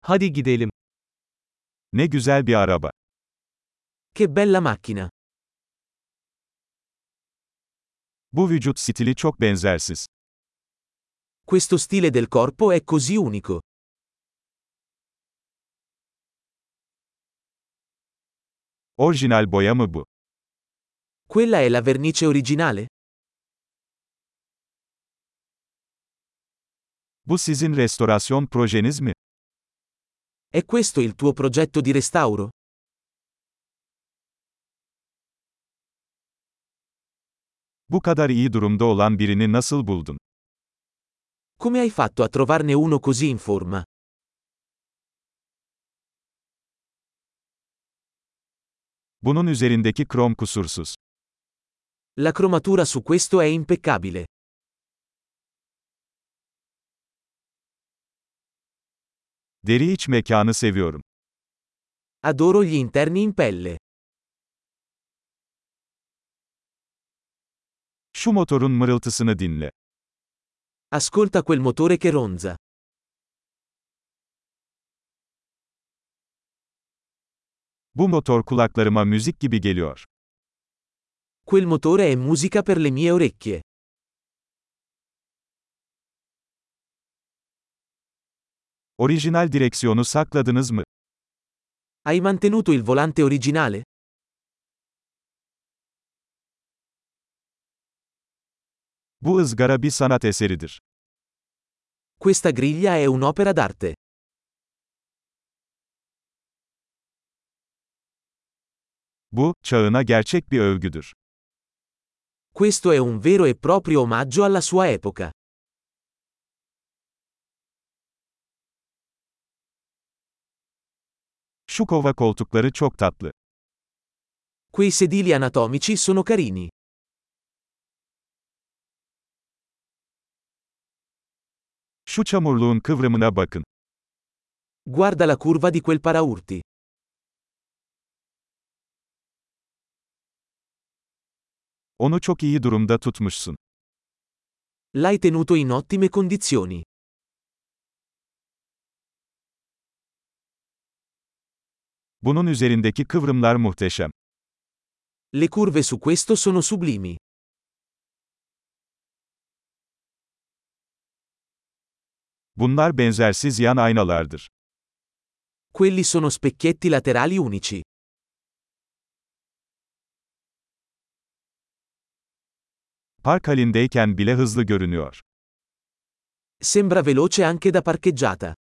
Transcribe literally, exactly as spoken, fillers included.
Hadi gidelim. Ne güzel bir araba. Che bella macchina. Bu vücut stili çok benzersiz. Questo stile del corpo è così unico. Orijinal boya mı bu? Quella è la vernice originale? Bu sizin restorasyon projeniz mi? È questo il tuo progetto di restauro? Bu kadar iyi durumda olan birini nasıl buldun? Come hai fatto a trovarne uno così in forma? Bunun üzerindeki krom kusursuz. La cromatura su questo è impeccabile. Deri iç mekanı seviyorum. Adoro gli interni in pelle. Şu motorun mırıltısını dinle. Ascolta quel motore che ronza. Bu motor kulaklarıma müzik gibi geliyor. Quel motore è musica per le mie orecchie. Orijinal direksiyonu sakladınız mı? Hai mantenuto il volante originale? Bu ızgara bir sanat eseridir. Questa griglia è un'opera d'arte. Bu, çağına gerçek bir övgüdür. Questo è un vero e proprio omaggio alla sua epoca. Şu kova koltukları çok tatlı. Quei sedili anatomici sono carini. Şu çamurluğun kıvrımına bakın. Guarda la curva di quel paraurti. Onu çok iyi durumda tutmuşsun. L'hai tenuto in ottime condizioni. Bunun üzerindeki kıvrımlar muhteşem. Le curve su questo sono sublimi. Bunlar benzersiz yan aynalardır. Quelli sono specchietti laterali unici. Park halindeyken bile hızlı görünüyor. Sembra veloce anche da parcheggiata.